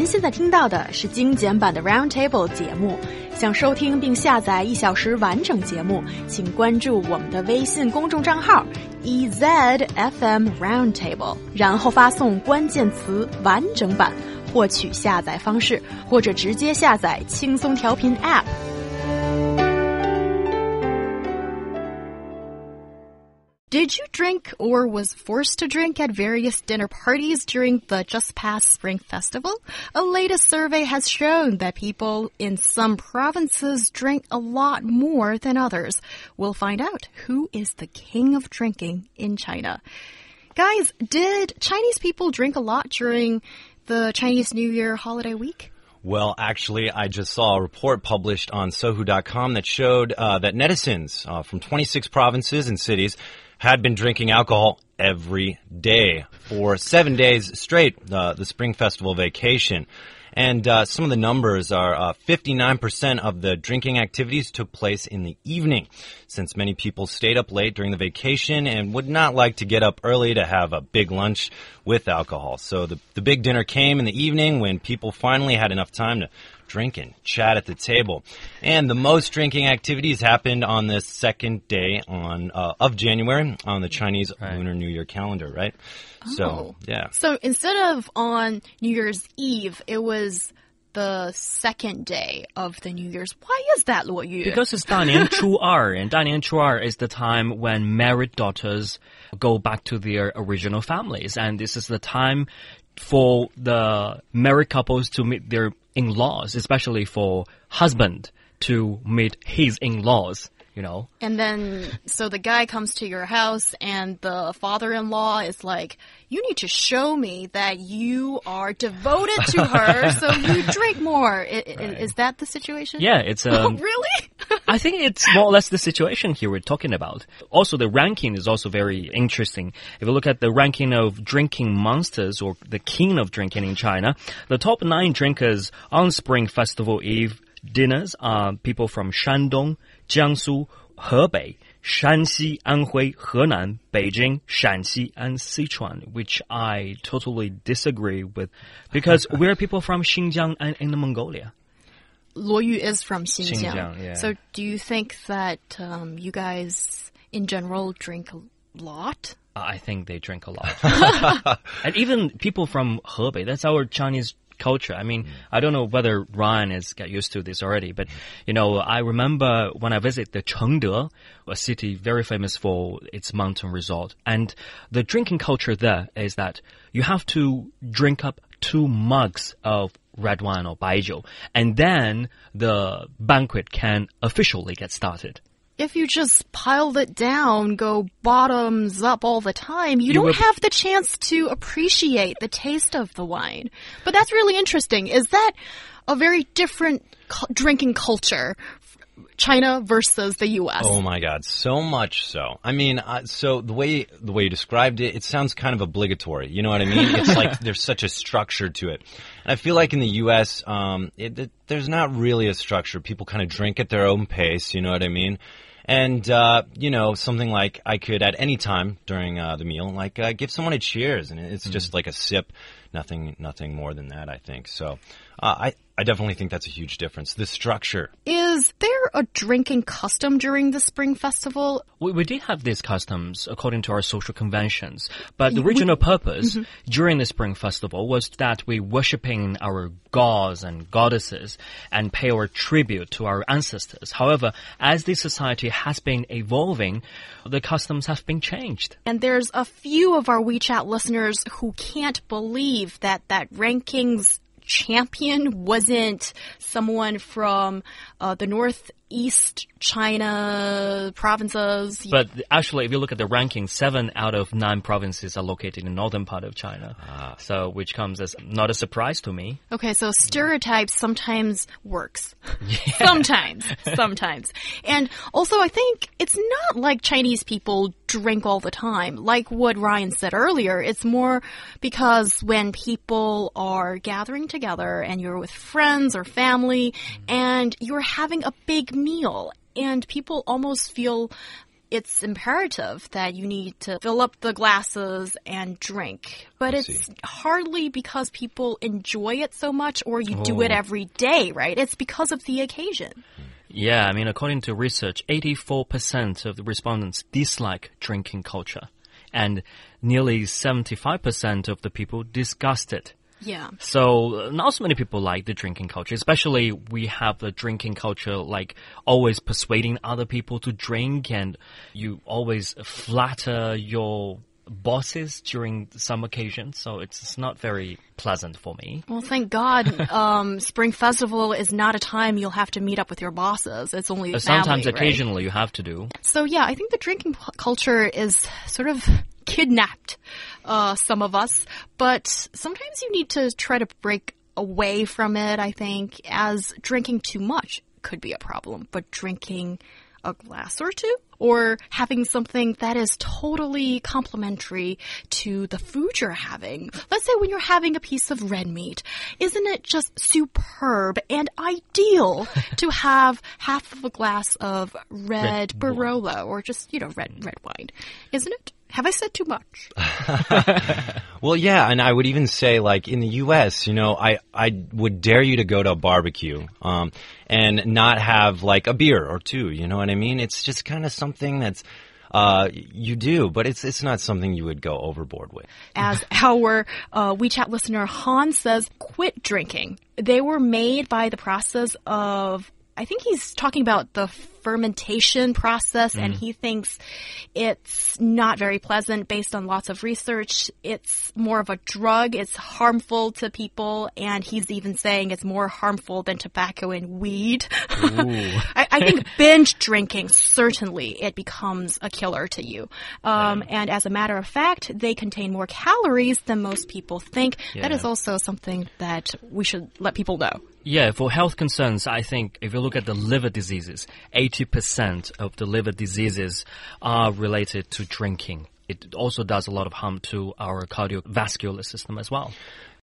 现在听到的是精简版的 Roundtable 节目。想收听并下载1小时完整节目，请关注我们的微信公众账号 EZFM Roundtable， 然后发送关键词完整版获取下载方式，或者直接下载轻松调频 App。Did you drink or was forced to drink at various dinner parties during the just past Spring Festival? A latest survey has shown that people in some provinces drink a lot more than others. We'll find out who is the king of drinking in China. Guys, did Chinese people drink a lot during the Chinese New Year holiday week? Well, actually, I just saw a report published on Sohu.com that showed that netizens from 26 provinces and cities had been drinking alcohol every day for 7 days straight, the Spring Festival vacation. And some of the numbers are 59% of the drinking activities took place in the evening, since many people stayed up late during the vacation and would not like to get up early to have a big lunch with alcohol. So the big dinner came in the evening when people finally had enough time to drink and chat at the table. And the most drinking activities happened on the second day of January on the Chinese Lunar New Year calendar, right? Oh. So, yeah. So instead of on New Year's Eve, it was the second day of the New Year's. Why is that, Luo Yu? Because it's 大年初二, and 大年初二 is the time when married daughters go back to their original families. And this is the time for the married couples to meet their in-laws, especially for husband to meet his in-laws, you know. And then, so the guy comes to your house and the father-in-law is like, you need to show me that you are devoted to her, so you drink more. Is that the situation? Yeah, it's... Oh, really? I think it's more or less the situation here we're talking about. Also, the ranking is also very interesting. If you look at the ranking of drinking monsters or the king of drinking in China, the top 9 drinkers on Spring Festival Eve dinners are people from Shandong, Jiangsu, Hebei, Shanxi, Anhui, Henan, Beijing, Shanxi, and Sichuan, which I totally disagree with because we're people from Xinjiang and Inner Mongolia. Luo Yu is from Xinjiang. Xinjiang, yeah. So do you think that you guys in general drink a lot? I think they drink a lot. And even people from Hebei, that's our Chinese culture. I mean, I don't know whether Ryan has got used to this already, but, you know, I remember when I visited the Chengde, a city very famous for its mountain resort, and the drinking culture there is that you have to drink up 2 mugs of red wine or baijiu, and then the banquet can officially get started. If you just piled it down, go bottoms up all the time, you don't have the chance to appreciate the taste of the wine. But that's really interesting. Is that a very different drinking culture, China versus the U.S.? Oh my God, so much so. I mean, so the way you described it, it sounds kind of obligatory. You know what I mean? It's like there's such a structure to it. And I feel like in the U.S., there's not really a structure. People kind of drink at their own pace. You know what I mean? And, you know, something like I could at any time during the meal, like give someone a cheers. And it's just like a sip, nothing more than that, I think. So I definitely think that's a huge difference. The structure. Is there a drinking custom during the Spring Festival? We did have these customs according to our social conventions, but the original purpose during the Spring Festival was that we worshipping our gods and goddesses and pay our tribute to our ancestors. However, as this society has been evolving, the customs have been changed. And there's a few of our WeChat listeners who can't believe that rankings champion wasn't someone from the northeast China provinces. But actually, if you look at the ranking, 7 out of 9 provinces are located in the northern part of China. So, which comes as not a surprise to me. Okay, so stereotypes sometimes works. Yeah. Sometimes. And also, I think it's not like Chinese people drink all the time. Like what Ryan said earlier, it's more because when people are gathering together and you're with friends or family and you're having a big meal, and people almost feel it's imperative that you need to fill up the glasses and drink. But it's hardly because people enjoy it so much or you do it every day, right? It's because of the occasion. Yeah, I mean, according to research, 84% of the respondents dislike drinking culture, and nearly 75% of the people disgust it. Yeah. So not so many people like the drinking culture, especially we have the drinking culture like always persuading other people to drink, and you always flatter your bosses during some occasions, so it's not very pleasant for me. Well, thank God Spring Festival is not a time you'll have to meet up with your bosses. It's only family, sometimes right? occasionally you have to do. So yeah, I think the drinking culture is sort of kidnapped some of us, but sometimes you need to try to break away from it, I think, as drinking too much could be a problem, but drinking a glass or two, or having something that is totally complementary to the food you're having. Let's say when you're having a piece of red meat, isn't it just superb and ideal to have half of a glass of red Barolo or just, red wine? Isn't it? Have I said too much? Well, yeah, and I would even say, like, in the U.S., I would dare you to go to a barbecue and not have, like, a beer or two, you know what I mean? It's just kind of something that's you do, but it's not something you would go overboard with. As our WeChat listener Han says, quit drinking. They were made by the process of, I think he's talking about the fermentation process, and he thinks it's not very pleasant based on lots of research. It's more of a drug. It's harmful to people, and he's even saying it's more harmful than tobacco and weed. I think binge drinking, certainly it becomes a killer to you. And as a matter of fact, they contain more calories than most people think. Yeah. That is also something that we should let people know. Yeah, for health concerns, I think if you look at the liver diseases, 80% of the liver diseases are related to drinking. It also does a lot of harm to our cardiovascular system as well.